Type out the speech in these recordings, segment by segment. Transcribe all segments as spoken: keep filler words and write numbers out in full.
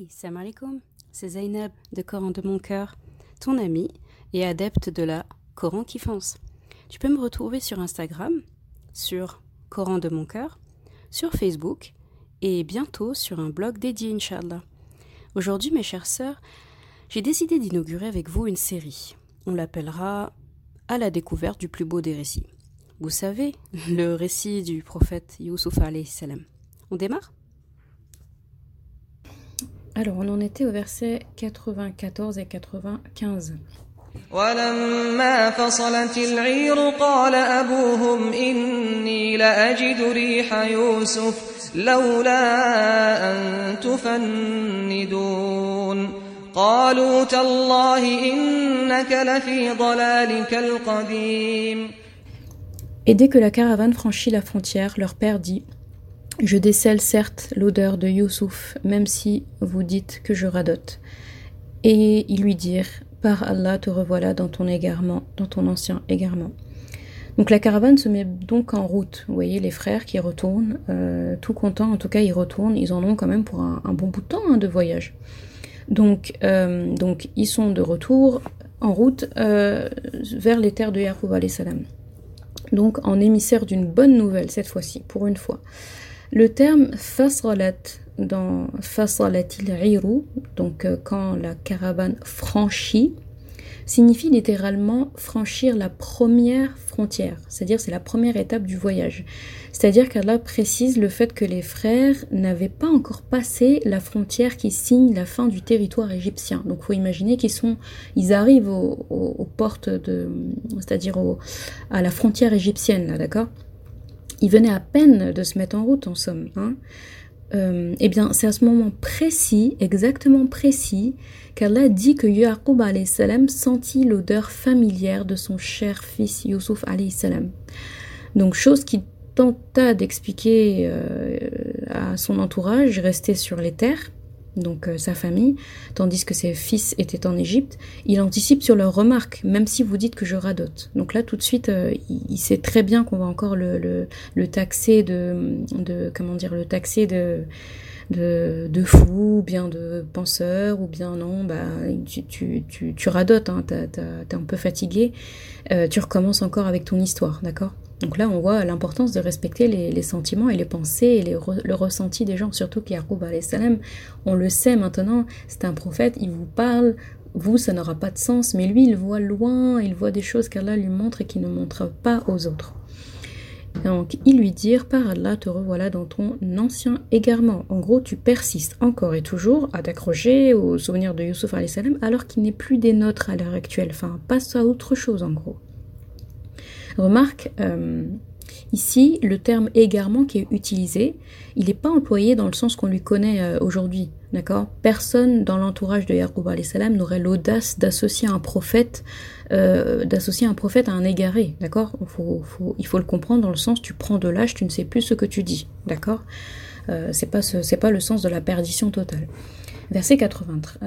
Salam alaikum, c'est Zainab de Coran de mon cœur, ton amie et adepte de la Coran qui fonce. Tu peux me retrouver sur Instagram, sur Coran de mon cœur, sur Facebook et bientôt sur un blog dédié, Inch'Allah. Aujourd'hui, mes chères sœurs, j'ai décidé d'inaugurer avec vous une série. On l'appellera « À la découverte du plus beau des récits ». Vous savez, le récit du prophète Youssouf alayhi salam. On démarre ? Alors, on en était au verset quatre-vingt-quatorze et quatre-vingt-quinze. ولما فصلت العير قال أبوهم إني لأجد ريح يوسف لولا أن تفندون قالوا تالله إنك لفي ضلالك القديم. Et dès que la caravane franchit la frontière, leur père dit « Je décèle certes l'odeur de Youssouf, même si vous dites que je radote. » Et ils lui dirent « Par Allah, te revoilà dans ton égarement, dans ton ancien égarement. » Donc la caravane se met donc en route. Vous voyez les frères qui retournent, euh, tout contents, en tout cas ils retournent, ils en ont quand même pour un, un bon bout de temps hein, de voyage. Donc, euh, donc ils sont de retour en route euh, vers les terres de Yaqub alayhi salam. Donc en émissaire d'une bonne nouvelle cette fois-ci, pour une fois. Le terme fasalat dans fasalatil iru, donc euh, quand la caravane franchit, signifie littéralement franchir la première frontière, c'est-à-dire c'est la première étape du voyage. C'est-à-dire qu'Allah précise le fait que les frères n'avaient pas encore passé la frontière qui signe la fin du territoire égyptien. Donc il faut imaginer qu'ils sont, ils arrivent aux, aux, aux portes de, c'est-à-dire au, à la frontière égyptienne là, d'accord ? Ils venaient à peine de se mettre en route en somme. Hein. Euh, eh bien, c'est à ce moment précis, exactement précis, qu'Allah dit que Yaqub alayhi salam sentit l'odeur familière de son cher fils Youssouf alayhi salam. Donc, chose qui tenta d'expliquer euh, à son entourage, resté sur les terres, donc euh, sa famille, tandis que ses fils étaient en Égypte, il anticipe sur leurs remarques, même si vous dites que je radote. Donc là, tout de suite, euh, il, il sait très bien qu'on va encore le, le, le taxer de, de, comment dire, le taxer de, de, de fou, ou bien de penseur, ou bien non, bah, tu, tu, tu, tu radotes, hein, t'as, t'as, t'es un peu fatigué, euh, tu recommences encore avec ton histoire, d'accord ? Donc là, on voit l'importance de respecter les, les sentiments et les pensées et les re, le ressenti des gens, surtout qu'Yaqub alayhi salam, on le sait maintenant, c'est un prophète, il vous parle, vous, ça n'aura pas de sens, mais lui, il voit loin, il voit des choses qu'Allah lui montre et qu'il ne montre pas aux autres. Donc, ils lui dirent, par Allah, te revoilà dans ton ancien égarement. En gros, tu persistes encore et toujours à t'accrocher aux souvenirs de Youssouf alayhi salam, alors qu'il n'est plus des nôtres à l'heure actuelle. Enfin, passe à autre chose, en gros. Remarque, euh, ici, le terme égarement qui est utilisé, il n'est pas employé dans le sens qu'on lui connaît euh, aujourd'hui, d'accord ? Personne dans l'entourage de Yaqub alayhi salam n'aurait l'audace d'associer un prophète, euh, d'associer un prophète à un égaré, d'accord ? faut, faut, Il faut le comprendre dans le sens, tu prends de l'âge, tu ne sais plus ce que tu dis, d'accord ? euh, c'est pas ce, c'est pas le sens de la perdition totale. Verset quatre-vingt-treize.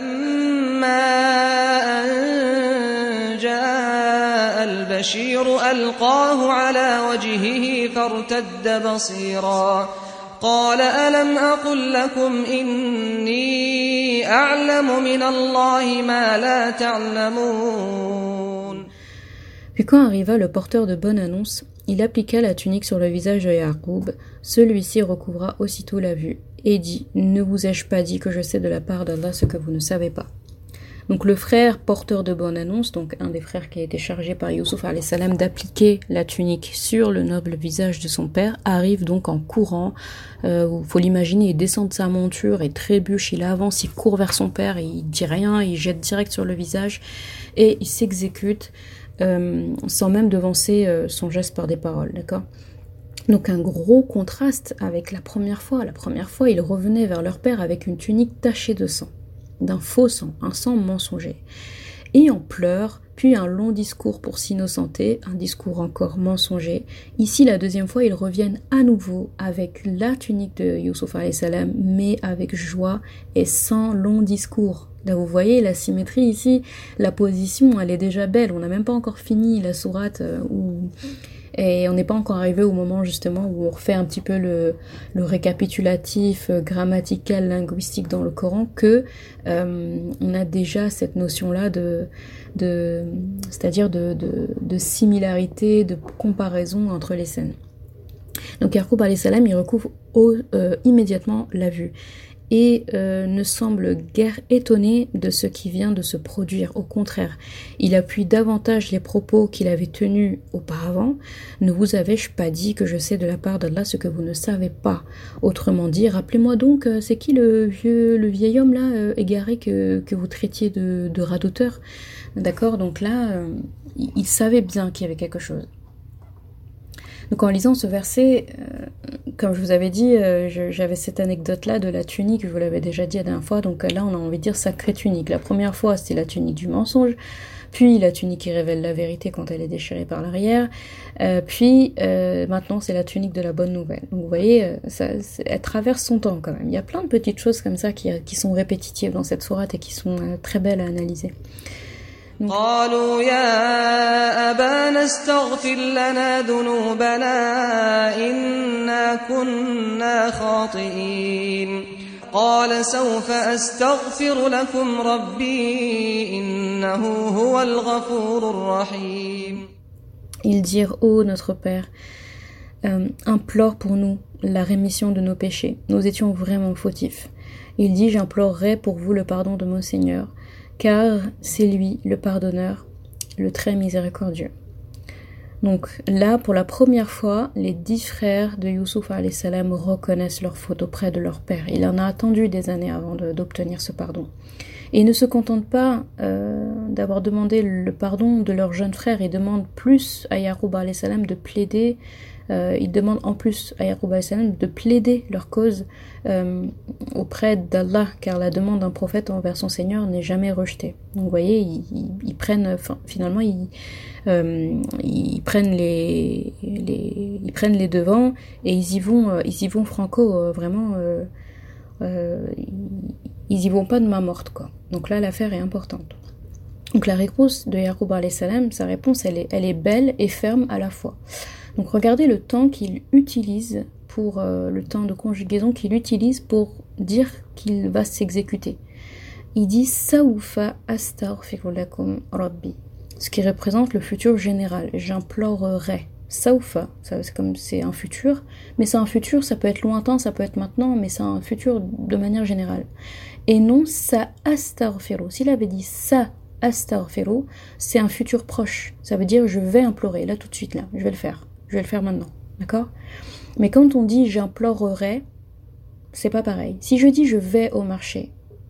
جاء البشير ألقاه على وجهه فارتد بصيرا قال ألم أقل لكم إني أعلم من الله ما لا تعلمون. Puis quand arriva le porteur de bonne annonce, il appliqua la tunique sur le visage de Yaqub, celui-ci recouvra aussitôt la vue et dit « Ne vous ai-je pas dit que je sais de la part d'Allah ce que vous ne savez pas ?» Donc le frère porteur de bonne annonce, donc un des frères qui a été chargé par Youssouf alayhi salam d'appliquer la tunique sur le noble visage de son père, arrive donc en courant. Euh, faut l'imaginer, il descend de sa monture et trébuche, il avance, il court vers son père, et il dit rien, il jette direct sur le visage et il s'exécute euh, sans même devancer euh, son geste par des paroles, d'accord ? Donc un gros contraste avec la première fois. La première fois, ils revenaient vers leur père avec une tunique tachée de sang, d'un faux sang, un sang mensonger. Et en pleurs, puis un long discours pour s'innocenter, un discours encore mensonger. Ici, la deuxième fois, ils reviennent à nouveau avec la tunique de Youssouf alayhi salam, mais avec joie et sans long discours. Là, vous voyez la symétrie ici, la position, elle est déjà belle. On n'a même pas encore fini la sourate où Et on n'est pas encore arrivé au moment justement où on refait un petit peu le, le récapitulatif euh, grammatical, linguistique dans le Coran, que euh, on a déjà cette notion-là de, de c'est-à-dire de, de, de similarité, de comparaison entre les scènes. Donc Yaqub alayhi salam, il recouvre au, euh, immédiatement la vue et euh, ne semble guère étonné de ce qui vient de se produire. Au contraire, il appuie davantage les propos qu'il avait tenus auparavant. Ne vous avais-je pas dit que je sais de la part d'Allah ce que vous ne savez pas? Autrement dit, rappelez-moi donc, euh, c'est qui le vieux, le vieil homme là, euh, égaré que, que vous traitiez de, de radoteur? D'accord, donc là, euh, il, il savait bien qu'il y avait quelque chose. Donc en lisant ce verset, euh, comme je vous avais dit, euh, je, j'avais cette anecdote-là de la tunique, je vous l'avais déjà dit la dernière fois, donc là on a envie de dire sacrée tunique. La première fois c'était la tunique du mensonge, puis la tunique qui révèle la vérité quand elle est déchirée par l'arrière, euh, puis euh, maintenant c'est la tunique de la bonne nouvelle. Donc vous voyez, euh, ça, elle traverse son temps quand même. Il y a plein de petites choses comme ça qui, qui sont répétitives dans cette sourate et qui sont euh, très belles à analyser. قالوا يا أبانا استغفر لنا ذنوبنا إنا كنا خاطئين قال سوف أستغفر لكم ربي إنه هو الغفور الرحيم. Ils dirent, ô notre Père, euh, implore pour nous la rémission de nos péchés. Nous étions vraiment fautifs. Il dit, j'implorerai pour vous le pardon de mon Seigneur, car c'est lui le pardonneur, le très miséricordieux. Donc là, pour la première fois, les dix frères de Youssouf alayhi salam reconnaissent leur faute auprès de leur père. Il en a attendu des années avant de, d'obtenir ce pardon. Et ils ne se contentent pas euh, d'avoir demandé le pardon de leur jeune frère, ils demandent plus à Yaqub alayhi salam de plaider, euh, ils demandent en plus à Yaqub alayhi salam de plaider leur cause euh, auprès d'Allah, car la demande d'un prophète envers son Seigneur n'est jamais rejetée. Donc vous voyez, ils, ils, ils prennent, enfin, finalement, ils, euh, ils prennent les, les, ils prennent les devants et ils y vont, euh, ils y vont franco, euh, vraiment. Euh, euh, ils y vont pas de main morte, quoi. Donc là, l'affaire est importante. Donc la réponse de Yaqub alayhi salam, sa réponse, elle est, elle est belle et ferme à la fois. Donc regardez le temps qu'il utilise pour euh, le temps de conjugaison qu'il utilise pour dire qu'il va s'exécuter. Il dit Sawfa astaghfiru lakum rabbi, ce qui représente le futur général. J'implorerai. Sawfa, ça, c'est comme c'est un futur, mais c'est un futur, ça peut être lointain, ça peut être maintenant, mais c'est un futur de manière générale. Et non sa astaghfiru. S'il avait dit sa astaghfiru, c'est un futur proche. Ça veut dire je vais implorer, là tout de suite, là, je vais le faire. Je vais le faire maintenant, d'accord? Mais quand on dit j'implorerai, c'est pas pareil. Si je dis je vais au marché,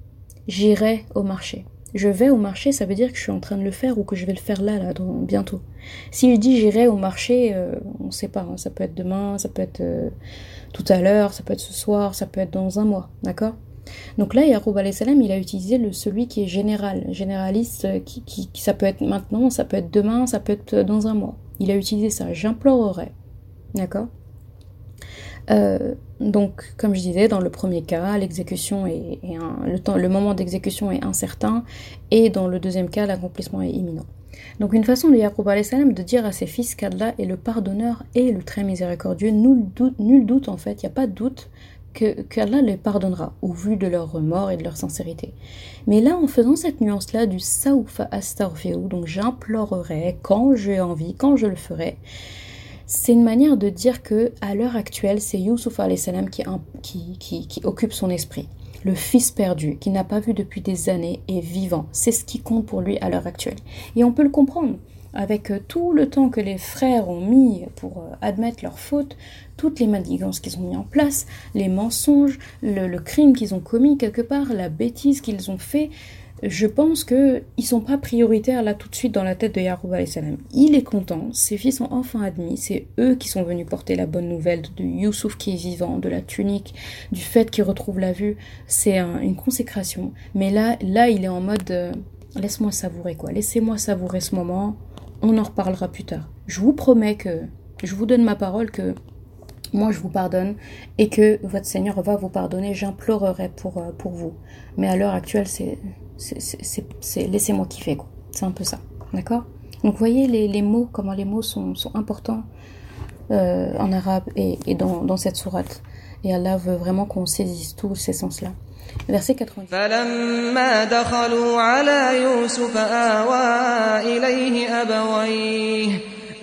j'irai au marché. Je vais au marché, ça veut dire que je suis en train de le faire ou que je vais le faire là, là, dans, bientôt. Si je dis j'irai au marché, euh, on sait pas, hein, ça peut être demain, ça peut être euh, tout à l'heure, ça peut être ce soir, ça peut être dans un mois, d'accord? Donc là, Yaqub alayhi salam, il a utilisé le, celui qui est général, généraliste, qui, qui, qui, ça peut être maintenant, ça peut être demain, ça peut être dans un mois. Il a utilisé ça, j'implorerai, d'accord? Euh, donc, comme je disais, dans le premier cas, l'exécution est, est un, le, temps, le moment d'exécution est incertain, et dans le deuxième cas, l'accomplissement est imminent. Donc, une façon de Yaqub alayhi salam de dire à ses fils qu'Allah est le pardonneur et le très miséricordieux, nul doute, nul doute en fait, il n'y a pas de doute que qu'Allah les pardonnera au vu de leur remords et de leur sincérité. Mais là, en faisant cette nuance-là du sawfa astaghfiru, donc j'implorerai quand j'ai envie, quand je le ferai, c'est une manière de dire que à l'heure actuelle, c'est Youssouf alayhi salam qui, qui, qui, qui occupe son esprit. Le fils perdu, qui n'a pas vu depuis des années, est vivant. C'est ce qui compte pour lui à l'heure actuelle. Et on peut le comprendre. Avec tout le temps que les frères ont mis pour admettre leur faute, toutes les manigances qu'ils ont mis en place, les mensonges, le, le crime qu'ils ont commis quelque part, la bêtise qu'ils ont fait, je pense qu'ils ne sont pas prioritaires là tout de suite dans la tête de Yaqub alayhi salam. Il est content, ses fils sont enfin admis, c'est eux qui sont venus porter la bonne nouvelle de Youssouf qui est vivant, de la tunique, du fait qu'il retrouve la vue, c'est un, une consécration. Mais là, là, il est en mode euh, laisse-moi savourer quoi, laissez-moi savourer ce moment. On en reparlera plus tard. Je vous promets que, je vous donne ma parole que moi je vous pardonne et que votre Seigneur va vous pardonner. J'implorerai pour, pour vous. Mais à l'heure actuelle, c'est, c'est, c'est, c'est, c'est laissez-moi kiffer quoi. C'est un peu ça, d'accord? Donc, vous voyez les, les mots, comment les mots sont, sont importants euh, en arabe et, et dans, dans cette sourate. Et Allah veut vraiment qu'on saisisse tous ces sens-là. Verset quatre-vingt-dix. فَلَمَّا دَخَلُوا عَلَى يُوسُفَ آوَى إِلَيْهِ أَبَوَيْهِ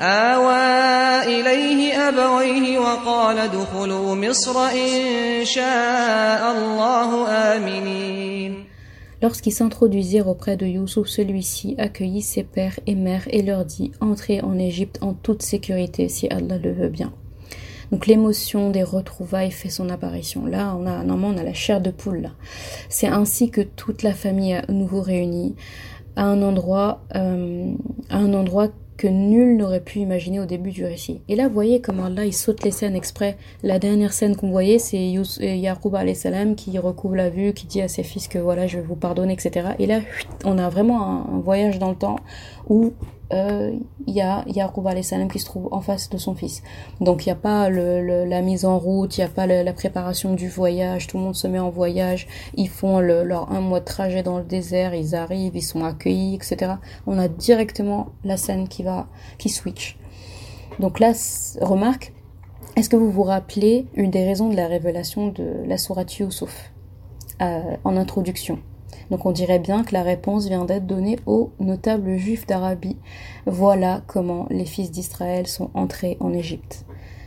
آوَى إِلَيْهِ أَبَوَيْهِ وَقَالَ ادْخُلُوا مِصْرَ إِن شَاءَ اللَّهُ آمِنِينَ. Lorsqu'ils s'introduisirent auprès de Youssouf, celui-ci accueillit ses pères et mères et leur dit « Entrez en Égypte en toute sécurité si Allah le veut bien ». Donc l'émotion des retrouvailles fait son apparition. Là, on a normalement on a la chair de poule là. C'est ainsi que toute la famille est à nouveau réunie à un endroit, euh, à un endroit que nul n'aurait pu imaginer au début du récit. Et là, vous voyez comment Allah il saute les scènes exprès. La dernière scène qu'on voyait, c'est Yaqub alayhi salam qui recouvre la vue, qui dit à ses fils que voilà, je vais vous pardonner, et cetera. Et là, on a vraiment un, un voyage dans le temps où il euh, y a Yaqub alayhi salam qui se trouve en face de son fils. Donc il n'y a pas le, le, la mise en route, il n'y a pas le, la préparation du voyage, tout le monde se met en voyage, ils font le, leur un mois de trajet dans le désert, ils arrivent, ils sont accueillis, et cetera. On a directement la scène qui va, qui switch. Donc là, remarque, est-ce que vous vous rappelez une des raisons de la révélation de la sourate Youssouf euh, en introduction? Donc on dirait bien que la réponse vient d'être donnée aux notables juifs d'Arabie. Voilà comment les fils d'Israël sont entrés en Égypte.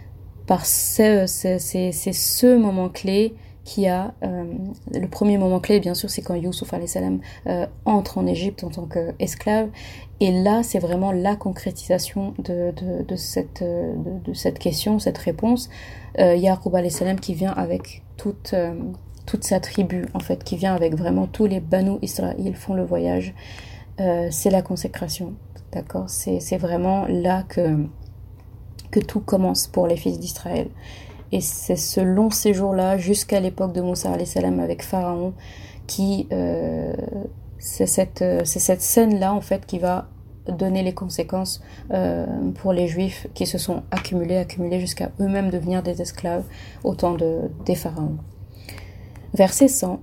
Par ce, c'est, c'est, c'est ce moment clé qui a... Euh, le premier moment clé, bien sûr, c'est quand Youssouf alayhi salam euh, entre en Égypte en tant qu'esclave. Et là, c'est vraiment la concrétisation de, de, de, cette, de, de cette question, cette réponse. Euh, Yaqub alayhi salam qui vient avec toute... Euh, toute sa tribu, en fait, qui vient avec vraiment tous les Banu Israël, ils font le voyage. Euh, c'est la consécration, d'accord ? C'est, c'est vraiment là que, que tout commence pour les fils d'Israël. Et c'est ce long séjour-là, jusqu'à l'époque de Moussa alayhi salam avec Pharaon, qui, euh, c'est cette, c'est cette scène-là, en fait, qui va donner les conséquences euh, pour les Juifs qui se sont accumulés, accumulés jusqu'à eux-mêmes devenir des esclaves au temps de, des pharaons. Verset cent.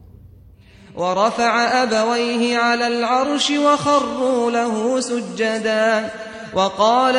ورفع أبويه على العرش وخروا له سجدا وقال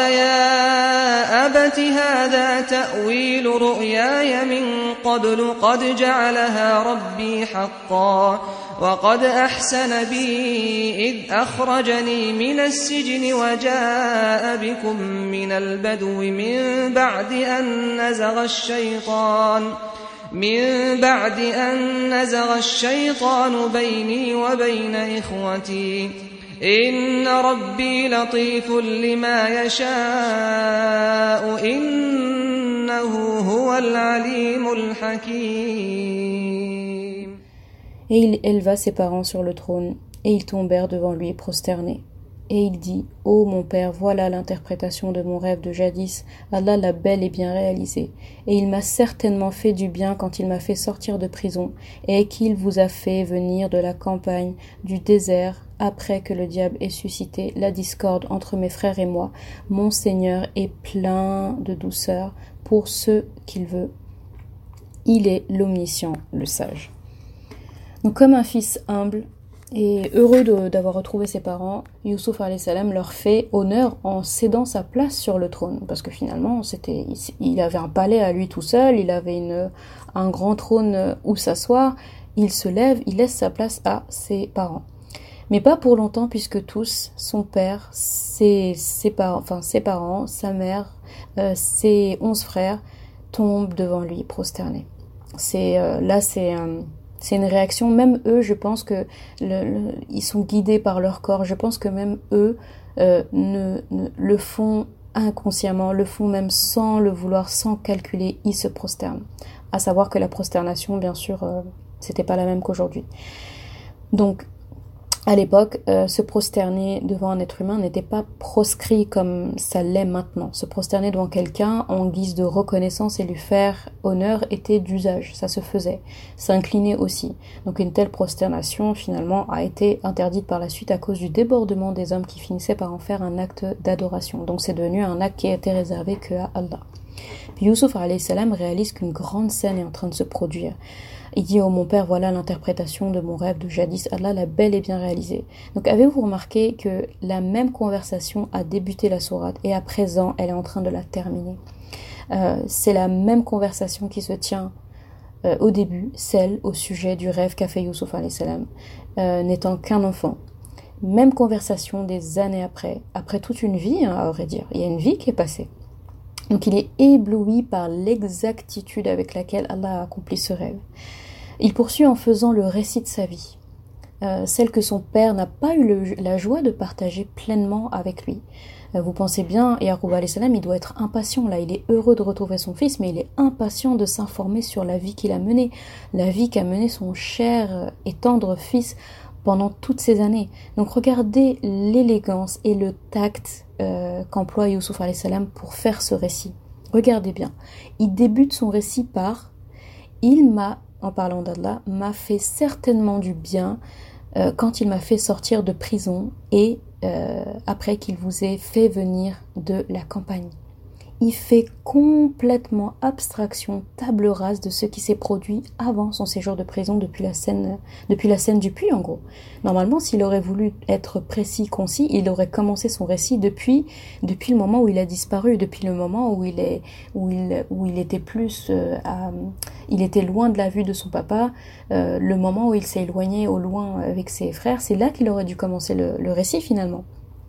يا أبت هذا تأويل رؤياي من قبل قد جعلها ربي حقا وقد أحسن بي إذ أخرجني من السجن وجاء بكم من البدو من بعد أن نزغ الشيطان من بعد أن نزغ الشيطان بيني وبين إخوتي إن ربي لطيف لما يشاء إنه هو العليم الحكيم. Et il éleva ses parents sur le trône, et ils tombèrent devant lui prosternés. Et il dit, « Ô mon père, voilà l'interprétation de mon rêve de jadis, Allah l'a bel et bien réalisé. Et il m'a certainement fait du bien quand il m'a fait sortir de prison, et qu'il vous a fait venir de la campagne, du désert, après que le diable ait suscité la discorde entre mes frères et moi. Mon Seigneur est plein de douceur pour ceux qu'il veut. Il est l'omniscient, le sage. » Donc comme un fils humble, et heureux de, d'avoir retrouvé ses parents, Youssouf alayhi salam leur fait honneur en cédant sa place sur le trône. Parce que finalement, c'était, il, il avait un palais à lui tout seul, il avait une, un grand trône où s'asseoir. Il se lève, il laisse sa place à ses parents. Mais pas pour longtemps, puisque tous, son père, ses, ses, parents, enfin, ses parents, sa mère, euh, ses onze frères, tombent devant lui, prosternés. C'est, euh, là, c'est... Euh, C'est une réaction, même eux, je pense que le, le, ils sont guidés par leur corps. Je pense que même eux euh, ne, ne, le font inconsciemment, le font même sans le vouloir, sans calculer, ils se prosternent. À savoir que la prosternation, bien sûr, euh, c'était pas la même qu'aujourd'hui. Donc, à l'époque, euh, se prosterner devant un être humain n'était pas proscrit comme ça l'est maintenant. Se prosterner devant quelqu'un en guise de reconnaissance et lui faire honneur était d'usage, ça se faisait. S'incliner aussi. Donc une telle prosternation, finalement, a été interdite par la suite à cause du débordement des hommes qui finissaient par en faire un acte d'adoration. Donc c'est devenu un acte qui a été réservé que à Allah. Puis Youssouf alayhi salam réalise qu'une grande scène est en train de se produire. Il dit « Oh mon père, voilà l'interprétation de mon rêve de jadis, Allah l'a bel et bien réalisé. » Donc avez-vous remarqué que la même conversation a débuté la sourate et à présent elle est en train de la terminer. Euh, c'est la même conversation qui se tient euh, au début, celle au sujet du rêve qu'a fait Youssouf alayhi salam, euh, n'étant qu'un enfant. Même conversation des années après, après toute une vie, hein, à vrai dire. Il y a une vie qui est passée. Donc il est ébloui par l'exactitude avec laquelle Allah a accompli ce rêve. Il poursuit en faisant le récit de sa vie, euh, celle que son père n'a pas eu le, la joie de partager pleinement avec lui. Euh, vous pensez bien, Yaqub alayhi salam, il doit être impatient là, il est heureux de retrouver son fils, mais il est impatient de s'informer sur la vie qu'il a menée, la vie qu'a menée son cher et tendre fils pendant toutes ces années. Donc regardez l'élégance et le tact euh, qu'emploie Youssouf alayhi salam pour faire ce récit. Regardez bien. Il débute son récit par « Il m'a, en parlant d'Allah, m'a fait certainement du bien euh, quand il m'a fait sortir de prison et euh, après qu'il vous ait fait venir de la campagne. » Il fait complètement abstraction, table rase de ce qui s'est produit avant son séjour de prison depuis la scène, depuis la scène du puits en gros. Normalement, s'il aurait voulu être précis, concis, il aurait commencé son récit depuis, depuis le moment où il a disparu, depuis le moment où il est, où il, où il était plus, euh, à, il était loin de la vue de son papa, euh, le moment où il s'est éloigné au loin avec ses frères, c'est là qu'il aurait dû commencer le, le récit finalement.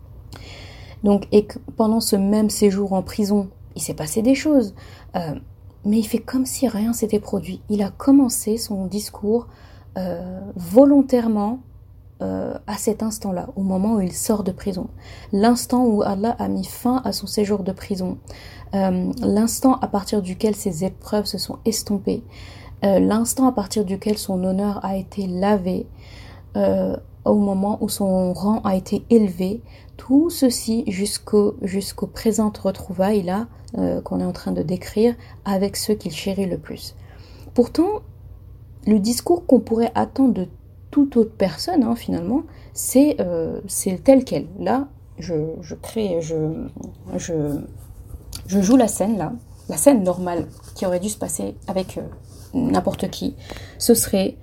Donc, et que pendant ce même séjour en prison, il s'est passé des choses, euh, mais il fait comme si rien s'était produit. Il a commencé son discours euh, volontairement euh, à cet instant-là, au moment où il sort de prison. L'instant où Allah a mis fin à son séjour de prison. Euh, l'instant à partir duquel ses épreuves se sont estompées. Euh, l'instant à partir duquel son honneur a été lavé. Euh, au moment où son rang a été élevé. Tout ceci jusqu'au, jusqu'aux présentes retrouvailles là, euh, qu'on est en train de décrire avec ceux qu'il chérit le plus. Pourtant, le discours qu'on pourrait attendre de toute autre personne, hein, finalement, c'est, euh, c'est tel quel. Là, je, je crée, je, je, je joue la scène là, la scène normale qui aurait dû se passer avec euh, n'importe qui. Ce serait...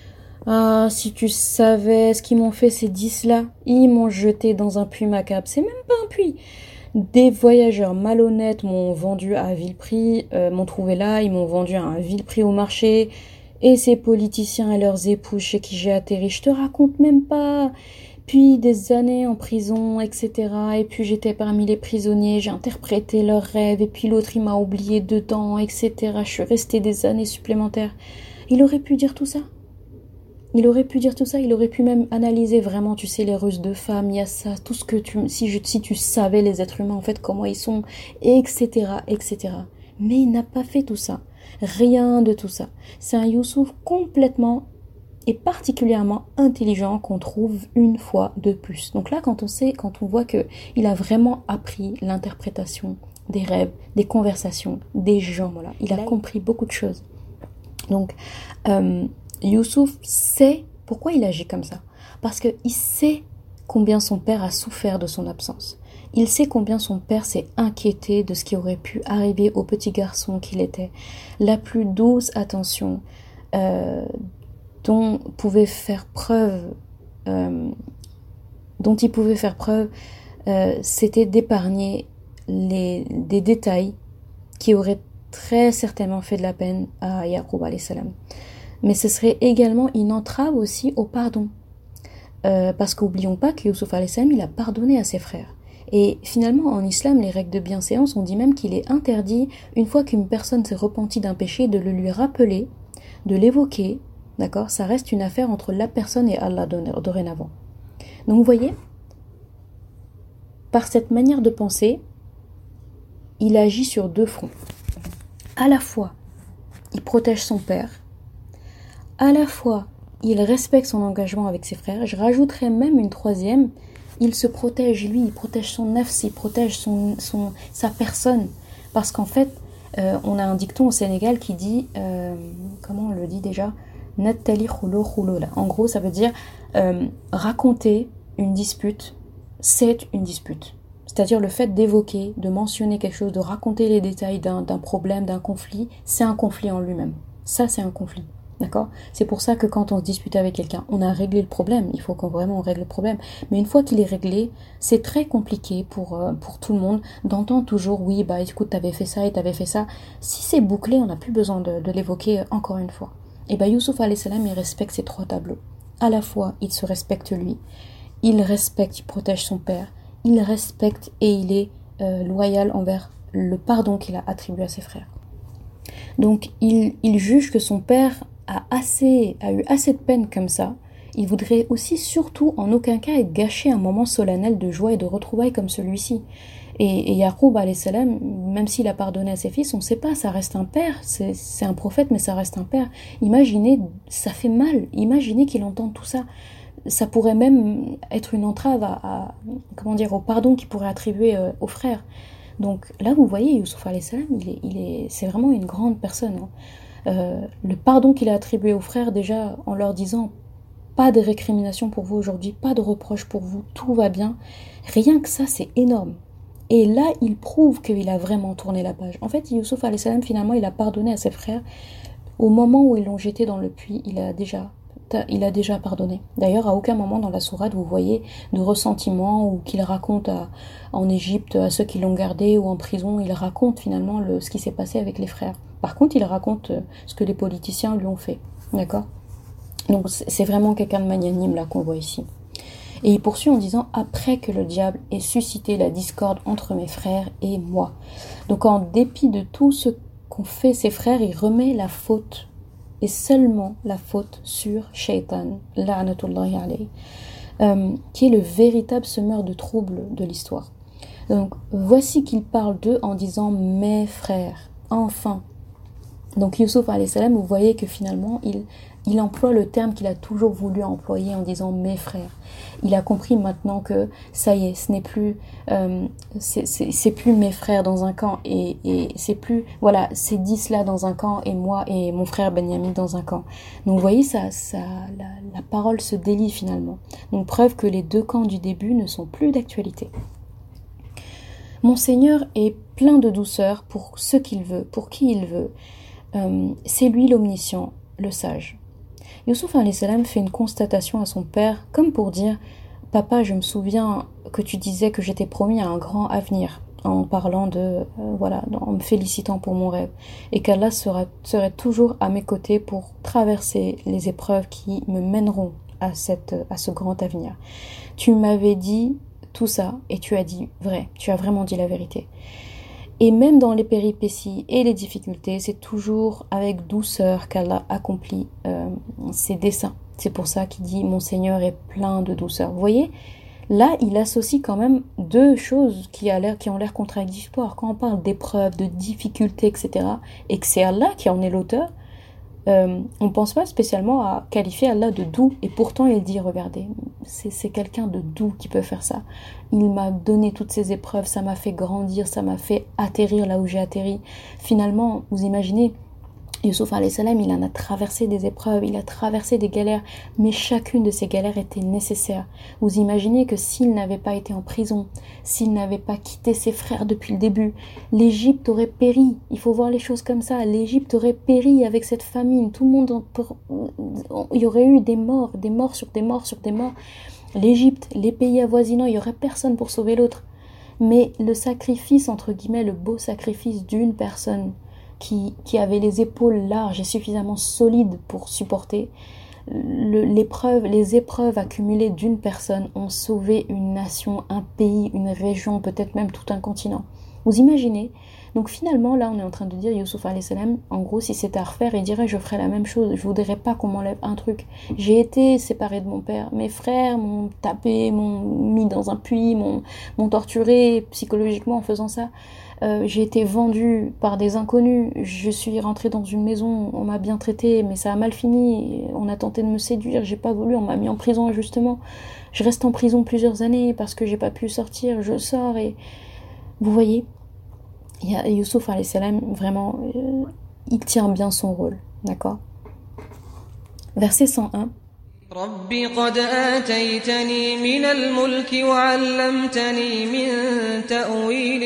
Ah, si tu savais ce qu'ils m'ont fait ces dix-là, ils m'ont jeté dans un puits macabre, c'est même pas un puits. Des voyageurs malhonnêtes m'ont vendu à vil prix, euh, m'ont trouvé là, ils m'ont vendu à un vil prix au marché, et ces politiciens et leurs épouses chez qui j'ai atterri, je te raconte même pas. Puis des années en prison, et cetera. Et puis j'étais parmi les prisonniers, j'ai interprété leurs rêves, et puis l'autre il m'a oublié dedans, et cetera. Je suis restée des années supplémentaires. Il aurait pu dire tout ça. Il aurait pu dire tout ça, il aurait pu même analyser vraiment, tu sais, les ruses de femmes, il y a ça, tout ce que tu... Si, je, si tu savais les êtres humains, en fait, comment ils sont, et cetera, et cetera. Mais il n'a pas fait tout ça. Rien de tout ça. C'est un Youssouf complètement et particulièrement intelligent qu'on trouve une fois de plus. Donc là, quand on sait, quand on voit que il a vraiment appris l'interprétation des rêves, des conversations, des gens, voilà. Il a compris beaucoup de choses. Donc... Euh, Youssouf sait pourquoi il agit comme ça. Parce qu'il sait combien son père a souffert de son absence. Il sait combien son père s'est inquiété de ce qui aurait pu arriver au petit garçon qu'il était. La plus douce attention euh, dont pouvait faire preuve, euh, dont il pouvait faire preuve, euh, c'était d'épargner les, des détails qui auraient très certainement fait de la peine à Yaqub alayhi salam. Mais ce serait également une entrave aussi au pardon. Euh, parce qu'oublions pas que Youssouf alayhi salam, il a pardonné à ses frères. Et finalement, en islam, les règles de bienséance, on dit même qu'il est interdit, une fois qu'une personne s'est repentie d'un péché, de le lui rappeler, de l'évoquer, d'accord ? Ça reste une affaire entre la personne et Allah dorénavant. Donc vous voyez, par cette manière de penser, il agit sur deux fronts. À la fois, il protège son père, à la fois, il respecte son engagement avec ses frères. Je rajouterais même une troisième. Il se protège, lui, il protège son nafs, il protège son, son, sa personne. Parce qu'en fait, euh, on a un dicton au Sénégal qui dit, euh, comment on le dit déjà ? Nattali khulo khulo là. En gros, ça veut dire euh, raconter une dispute, c'est une dispute. c'est-à-dire le fait d'évoquer, de mentionner quelque chose, de raconter les détails d'un, d'un problème, d'un conflit, c'est un conflit en lui-même. Ça, c'est un conflit. D'accord ? C'est pour ça que quand on se dispute avec quelqu'un, on a réglé le problème. Il faut qu'on vraiment on règle le problème. Mais une fois qu'il est réglé, c'est très compliqué pour, euh, pour tout le monde d'entendre toujours oui, bah écoute, t'avais fait ça et t'avais fait ça. Si c'est bouclé, on n'a plus besoin de, de l'évoquer encore une fois. Et bah Youssouf alayhi salam, il respecte ces trois tableaux. À la fois, il se respecte lui, il respecte, il protège son père, il respecte et il est euh, loyal envers le pardon qu'il a attribué à ses frères. Donc il, il juge que son père a, assez, a eu assez de peine comme ça. Il voudrait aussi surtout en aucun cas être gâché un moment solennel de joie et de retrouvailles comme celui-ci. Et, et Yaqub alayhi salam, même s'il a pardonné à ses fils, on ne sait pas, ça reste un père, c'est, c'est un prophète mais ça reste un père. Imaginez, ça fait mal, imaginez qu'il entende tout ça. Ça pourrait même être une entrave à, à comment dire, au pardon qu'il pourrait attribuer euh, aux frères. Donc là vous voyez, Youssouf alayhi salam, il est, il est, c'est vraiment une grande personne. Hein. Euh, le pardon qu'il a attribué aux frères, déjà en leur disant pas de récrimination pour vous aujourd'hui, pas de reproche pour vous, tout va bien, rien que ça c'est énorme. Et là il prouve qu'il a vraiment tourné la page. En fait Youssouf alayhi salam finalement il a pardonné à ses frères au moment où ils l'ont jeté dans le puits, il a déjà il a déjà pardonné. D'ailleurs, à aucun moment dans la sourate, vous voyez de ressentiment ou qu'il raconte à, en Égypte à ceux qui l'ont gardé ou en prison, il raconte finalement le, ce qui s'est passé avec les frères. Par contre, il raconte ce que les politiciens lui ont fait. D'accord ? Donc, c'est vraiment quelqu'un de magnanime là qu'on voit ici. Et il poursuit en disant « Après que le diable ait suscité la discorde entre mes frères et moi. » Donc, en dépit de tout ce qu'ont fait ses frères, il remet la faute et seulement la faute sur Shaitan, la'natullahi alayhi, euh, qui est le véritable semeur de troubles de l'histoire. Donc voici qu'il parle d'eux en disant mes frères, enfin. Donc Youssouf alayhi salam, vous voyez que finalement il, il emploie le terme qu'il a toujours voulu employer en disant mes frères. Il a compris maintenant que ça y est, ce n'est plus, euh, c'est, c'est, c'est plus mes frères dans un camp et, et c'est plus, voilà, c'est dix là dans un camp et moi et mon frère Benyamin dans un camp. Donc vous voyez, ça, ça, la, la parole se délie finalement. Donc preuve que les deux camps du début ne sont plus d'actualité. Mon Seigneur est plein de douceur pour ce qu'il veut, pour qui il veut. Euh, c'est lui l'omniscient, le sage. Youssouf alayhi salam fait une constatation à son père, comme pour dire « Papa, je me souviens que tu disais que j'étais promis à un grand avenir » en parlant de, euh, voilà, en me félicitant pour mon rêve, et qu'Allah sera, serait toujours à mes côtés pour traverser les épreuves qui me mèneront à, cette, à ce grand avenir. Tu m'avais dit tout ça, et tu as dit vrai, tu as vraiment dit la vérité. Et même dans les péripéties et les difficultés, c'est toujours avec douceur qu'Allah accomplit euh, ses desseins. C'est pour ça qu'il dit « Mon Seigneur est plein de douceur ». Vous voyez, là, il associe quand même deux choses qui, a l'air, qui ont l'air contradictoires. Quand on parle d'épreuves, de difficultés, et cetera, et que c'est Allah qui en est l'auteur, euh, on ne pense pas spécialement à qualifier Allah de doux. Et pourtant, il dit « Regardez, c'est, c'est quelqu'un de doux qui peut faire ça. Il m'a donné toutes ces épreuves, ça m'a fait grandir, ça m'a fait atterrir là où j'ai atterri. » Finalement, vous imaginez, Youssouf alayhi salam, il en a traversé des épreuves, il a traversé des galères, mais chacune de ces galères était nécessaire. Vous imaginez que s'il n'avait pas été en prison, s'il n'avait pas quitté ses frères depuis le début, l'Égypte aurait péri. Il faut voir les choses comme ça. L'Égypte aurait péri avec cette famine. Tout le monde, en... il y aurait eu des morts, des morts sur des morts sur des morts. L'Égypte, les pays avoisinants, il n'y aurait personne pour sauver l'autre. Mais le sacrifice, entre guillemets, le beau sacrifice d'une personne qui, qui avait les épaules larges et suffisamment solides pour supporter, le, l'épreuve, les épreuves accumulées d'une personne ont sauvé une nation, un pays, une région, peut-être même tout un continent. Vous imaginez ? Donc finalement, là, on est en train de dire, Youssouf alayhi salam, en gros, si c'était à refaire, il dirait, je ferais la même chose. Je voudrais pas qu'on m'enlève un truc. J'ai été séparé de mon père. Mes frères m'ont tapé, m'ont mis dans un puits, m'ont, m'ont torturé psychologiquement en faisant ça. Euh, j'ai été vendue par des inconnus. Je suis rentrée dans une maison, on m'a bien traitée, mais ça a mal fini. On a tenté de me séduire, j'ai pas voulu, on m'a mis en prison injustement. Je reste en prison plusieurs années parce que j'ai pas pu sortir. Je sors et vous voyez. Il y a Youssouf alayhi salam, vraiment, euh, il tient bien son rôle, d'accord ? Verset cent un. رب قد آتيتني من الملك وعلمتني من تأويل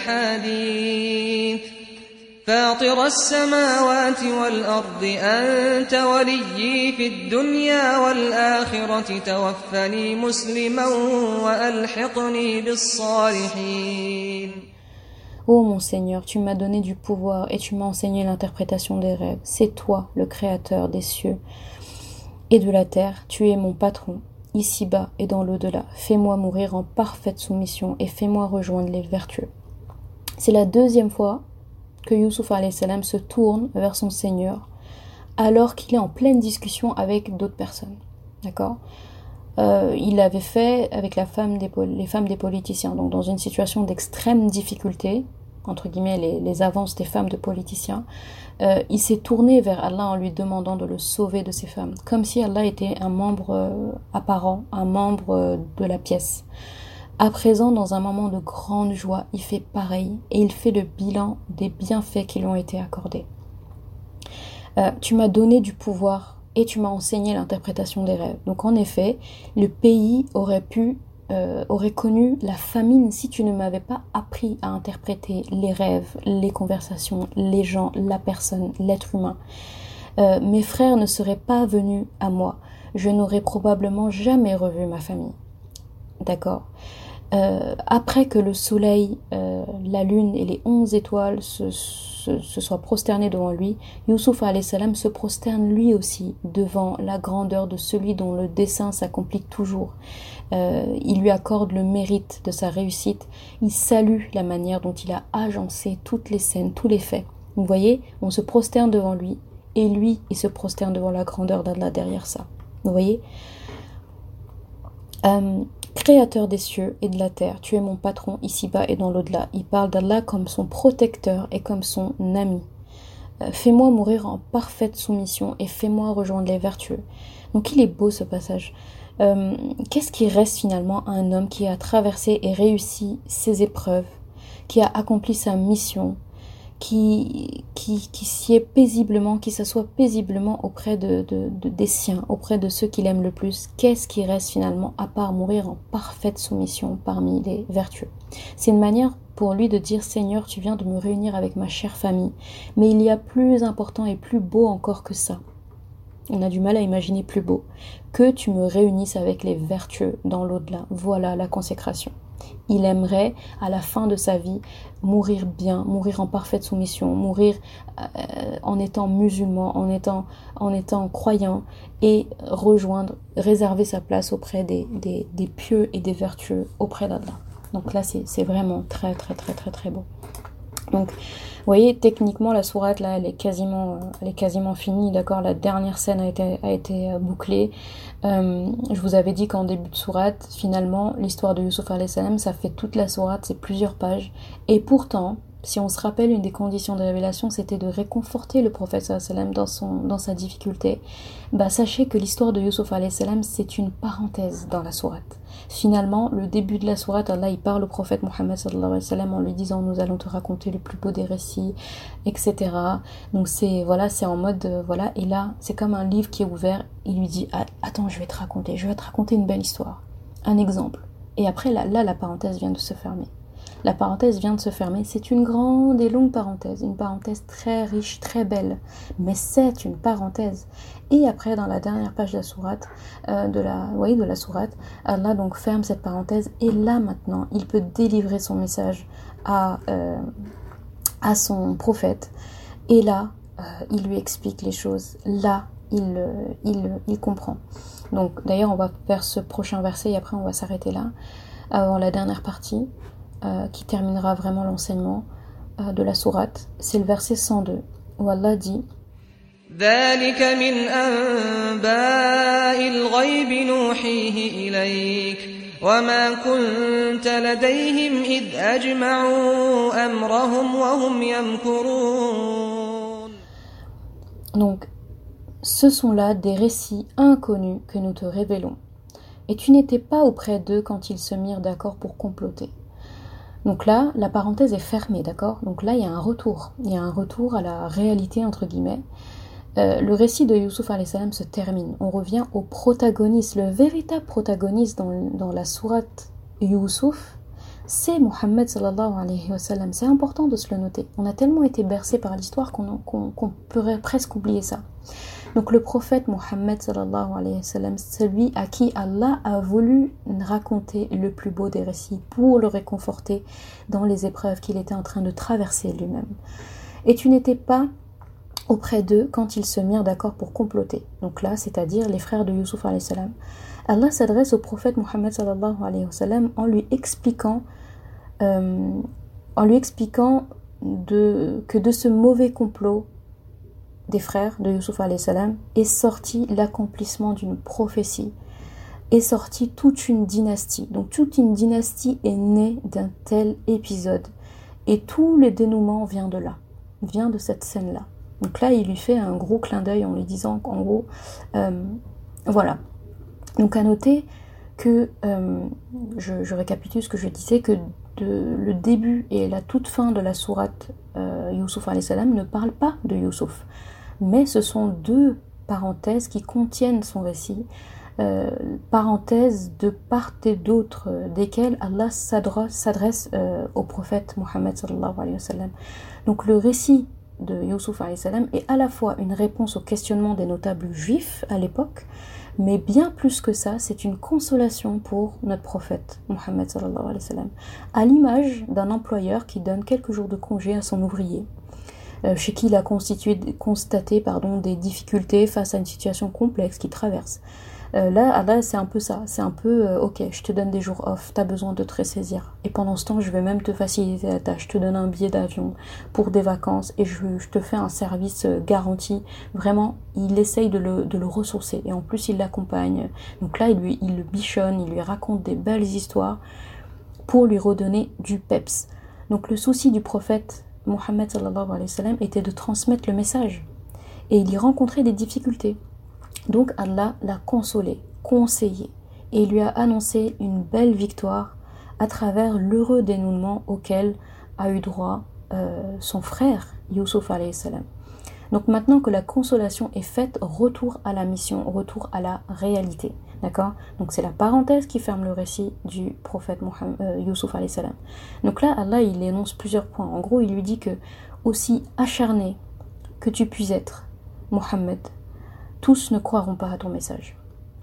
الأحاديث فاطر السماوات والأرض أنت وليي في الدنيا والآخرة توفني مسلما وألحقني بالصالحين. Ô mon Seigneur, tu m'as donné du pouvoir et tu m'as enseigné l'interprétation des rêves. C'est toi, le Créateur des cieux et de la terre. Tu es mon patron, ici-bas et dans l'au-delà. Fais-moi mourir en parfaite soumission et fais-moi rejoindre les vertueux. C'est la deuxième fois que Youssouf alayhi salam se tourne vers son Seigneur alors qu'il est en pleine discussion avec d'autres personnes. D'accord ? Euh, il l'avait fait avec la femme des, les femmes des politiciens, donc dans une situation d'extrême difficulté, entre guillemets les, les avances des femmes de politiciens, euh, il s'est tourné vers Allah en lui demandant de le sauver de ces femmes, comme si Allah était un membre euh, apparent, un membre euh, de la pièce. À présent, dans un moment de grande joie, il fait pareil et il fait le bilan des bienfaits qui lui ont été accordés. Euh, tu m'as donné du pouvoir et tu m'as enseigné l'interprétation des rêves. Donc en effet, le pays aurait pu, euh, aurait connu la famine si tu ne m'avais pas appris à interpréter les rêves, les conversations, les gens, la personne, l'être humain. Euh, mes frères ne seraient pas venus à moi. Je n'aurais probablement jamais revu ma famille. D'accord ? Euh, après que le soleil, euh, la lune et les onze étoiles se, se, se soient prosternés devant lui, Youssouf alayhi salam se prosterne lui aussi devant la grandeur de celui dont le dessein s'accomplit toujours. Euh, il lui accorde le mérite de sa réussite. Il salue la manière dont il a agencé toutes les scènes, tous les faits. Vous voyez, on se prosterne devant lui et lui, il se prosterne devant la grandeur d'Allah derrière ça. Vous voyez ? Euh, Créateur des cieux et de la terre, tu es mon patron ici-bas et dans l'au-delà. Il parle d'Allah comme son protecteur et comme son ami. Euh, fais-moi mourir en parfaite soumission et fais-moi rejoindre les vertueux. Donc il est beau ce passage. Euh, qu'est-ce qui reste finalement à un homme qui a traversé et réussi ses épreuves, qui a accompli sa mission, qui, qui, qui s'y est paisiblement, qui s'assoit paisiblement auprès de, de, de, des siens, auprès de ceux qu'il aime le plus? Qu'est-ce qui reste finalement à part mourir en parfaite soumission parmi les vertueux? C'est une manière pour lui de dire: Seigneur, tu viens de me réunir avec ma chère famille, mais il y a plus important et plus beau encore que ça. On a du mal à imaginer plus beau, que tu me réunisses avec les vertueux dans l'au-delà. Voilà la consécration. Il aimerait, à la fin de sa vie, mourir bien, mourir en parfaite soumission, mourir euh, en étant musulman, en étant, en étant croyant, et rejoindre, réserver sa place auprès des, des, des pieux et des vertueux auprès d'Allah. Donc là, c'est, c'est vraiment très, très, très, très, très beau. Donc, vous voyez, techniquement, la sourate, là, elle est quasiment, elle est quasiment finie, d'accord? La dernière scène a été, a été bouclée. Euh, je vous avais dit qu'en début de sourate, finalement, l'histoire de Youssouf alayhi salam, ça fait toute la sourate, c'est plusieurs pages. Et pourtant, si on se rappelle, une des conditions de révélation, c'était de réconforter le prophète sallallahu alayhi wa sallam dans, son, dans sa difficulté. Bah, sachez que l'histoire de Youssouf alayhi salam, c'est une parenthèse dans la sourate. Finalement, le début de la sourate, Allah, il parle au prophète Mohammed sallallahu alayhi wa sallam en lui disant: nous allons te raconter le plus beau des récits, et cetera. Donc c'est, voilà, c'est en mode, euh, voilà, et là, c'est comme un livre qui est ouvert, il lui dit: ah, attends, je vais te raconter, je vais te raconter une belle histoire, un exemple. Et après, là, là, la parenthèse vient de se fermer. La parenthèse vient de se fermer, c'est une grande et longue parenthèse, une parenthèse très riche, très belle, mais c'est une parenthèse. Et après, dans la dernière page de la sourate, euh, de la, oui, de la sourate, Allah donc ferme cette parenthèse, et là maintenant, il peut délivrer son message à, euh, à son prophète, et là, euh, il lui explique les choses, là, il, euh, il, il comprend. Donc d'ailleurs, on va faire ce prochain verset, et après on va s'arrêter là, avant la dernière partie, Euh, qui terminera vraiment l'enseignement euh, de la sourate. C'est le verset cent deux où Allah dit: ذلك من أنباء الغيب نوحيه إليك وما كنت لديهم إذ أجمعوا أمرهم وهم يمكرون. Donc, ce sont là des récits inconnus que nous te révélons. Et tu n'étais pas auprès d'eux quand ils se mirent d'accord pour comploter. Donc là, la parenthèse est fermée, d'accord? Donc là, il y a un retour. Il y a un retour à la réalité, entre guillemets. euh, le récit de Youssouf alayhi salam se termine. On revient au protagoniste, le véritable protagoniste dans, dans la sourate Youssouf, c'est Mohammed sallallahu alayhi wa sallam. C'est important de se le noter. On a tellement été bercé par l'histoire qu'on, qu'on, qu'on pourrait presque oublier ça. Donc le prophète Mohammed sallallahu alayhi wa sallam, celui à qui Allah a voulu raconter le plus beau des récits pour le réconforter dans les épreuves qu'il était en train de traverser lui-même. Et tu n'étais pas auprès d'eux quand ils se mirent d'accord pour comploter. Donc là, c'est-à-dire les frères de Youssouf alayhi salam. Allah s'adresse au prophète Mohammed sallallahu alayhi wa sallam en lui expliquant, euh, en lui expliquant de, que de ce mauvais complot des frères de Youssouf alayhi salam est sorti l'accomplissement d'une prophétie, est sorti toute une dynastie. Donc toute une dynastie est née d'un tel épisode. Et tout le dénouement vient de là, vient de cette scène-là. Donc là, il lui fait un gros clin d'œil en lui disant qu'en gros, euh, voilà. Donc à noter que, euh, je, je récapitule ce que je disais, que de, le début et la toute fin de la sourate euh, Youssouf alayhi salam ne parlent pas de Youssouf. Mais ce sont deux parenthèses qui contiennent son récit, euh, parenthèses de part et d'autre, euh, desquelles Allah s'adresse, s'adresse euh, au prophète Mohammed sallallahu alayhi wa sallam. Donc le récit de Youssouf alayhi salam est à la fois une réponse au questionnement des notables juifs à l'époque, mais bien plus que ça, c'est une consolation pour notre prophète Mohammed sallallahu alayhi wa sallam, à l'image d'un employeur qui donne quelques jours de congé à son ouvrier, Euh, chez qui il a constitué, constaté pardon, des difficultés face à une situation complexe qu'il traverse. Euh, là, là c'est un peu ça, c'est un peu, euh, ok, je te donne des jours off, t'as besoin de te ressaisir. Et pendant ce temps, je vais même te faciliter la tâche, je te donne un billet d'avion pour des vacances et je, je te fais un service garanti. Vraiment, il essaye de le, de le ressourcer et en plus, il l'accompagne. Donc là, il, lui, il le bichonne, il lui raconte des belles histoires pour lui redonner du peps. Donc le souci du prophète Mohammed sallallahu alayhi wa sallam était de transmettre le message et il y rencontrait des difficultés. Donc Allah l'a consolé, conseillé et lui a annoncé une belle victoire à travers l'heureux dénouement auquel a eu droit euh, son frère Youssouf alayhi salam. Donc maintenant que la consolation est faite, retour à la mission, retour à la réalité. D'accord ? Donc c'est la parenthèse qui ferme le récit du prophète Mohammed, euh, Youssouf alayhi salam. Donc là, Allah, il énonce plusieurs points. En gros, il lui dit que, aussi acharné que tu puisses être, Mohammed, tous ne croiront pas à ton message.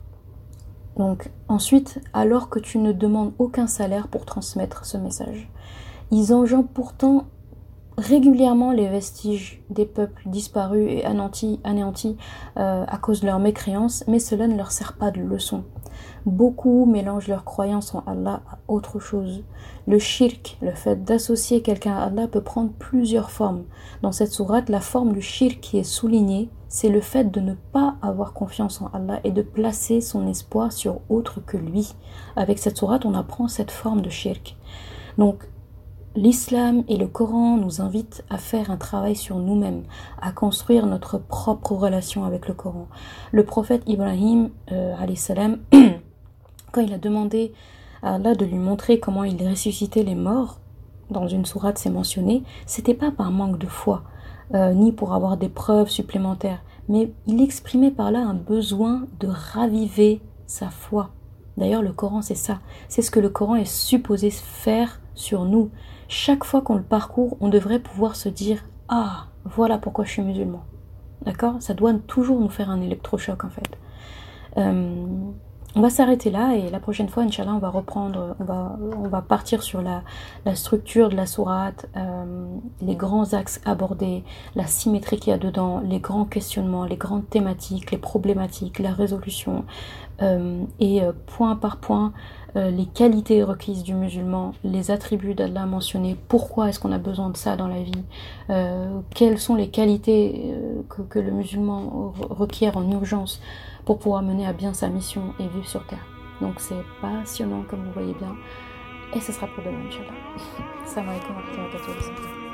Donc ensuite, alors que tu ne demandes aucun salaire pour transmettre ce message, ils engendrent pourtant régulièrement les vestiges des peuples disparus et anéantis, anéantis euh, à cause de leur mécréance, mais cela ne leur sert pas de leçon. Beaucoup mélangent leur croyance en Allah à autre chose. Le shirk, le fait d'associer quelqu'un à Allah, peut prendre plusieurs formes. Dans cette sourate, la forme du shirk qui est soulignée, c'est le fait de ne pas avoir confiance en Allah et de placer son espoir sur autre que lui. Avec cette sourate, on apprend cette forme de shirk. Donc, l'islam et le Coran nous invitent à faire un travail sur nous-mêmes, à construire notre propre relation avec le Coran. Le prophète Ibrahim, euh, alayhi salam, quand il a demandé à Allah de lui montrer comment il ressuscitait les morts, dans une sourate c'est mentionné, c'était pas par manque de foi, euh, ni pour avoir des preuves supplémentaires, mais il exprimait par là un besoin de raviver sa foi. D'ailleurs, le Coran, c'est ça. C'est ce que le Coran est supposé faire sur nous. Chaque fois qu'on le parcourt, on devrait pouvoir se dire « Ah, voilà pourquoi je suis musulman. » D'accord ? Ça doit toujours nous faire un électrochoc, en fait. Euh, on va s'arrêter là et la prochaine fois, Inch'Allah, on va reprendre, on va, on va partir sur la, la structure de la sourate, euh, les grands axes abordés, la symétrie qu'il y a dedans, les grands questionnements, les grandes thématiques, les problématiques, la résolution, euh, et euh, point par point, euh, les qualités requises du musulman, les attributs d'Allah mentionnés, pourquoi est-ce qu'on a besoin de ça dans la vie, euh, quelles sont les qualités euh, que, que le musulman requiert en urgence pour pouvoir mener à bien sa mission et vivre sur terre. Donc c'est passionnant comme vous voyez bien, et ce sera pour demain, Inch'Allah. Salam alaikum wa rahmatullahi wa barakatuh.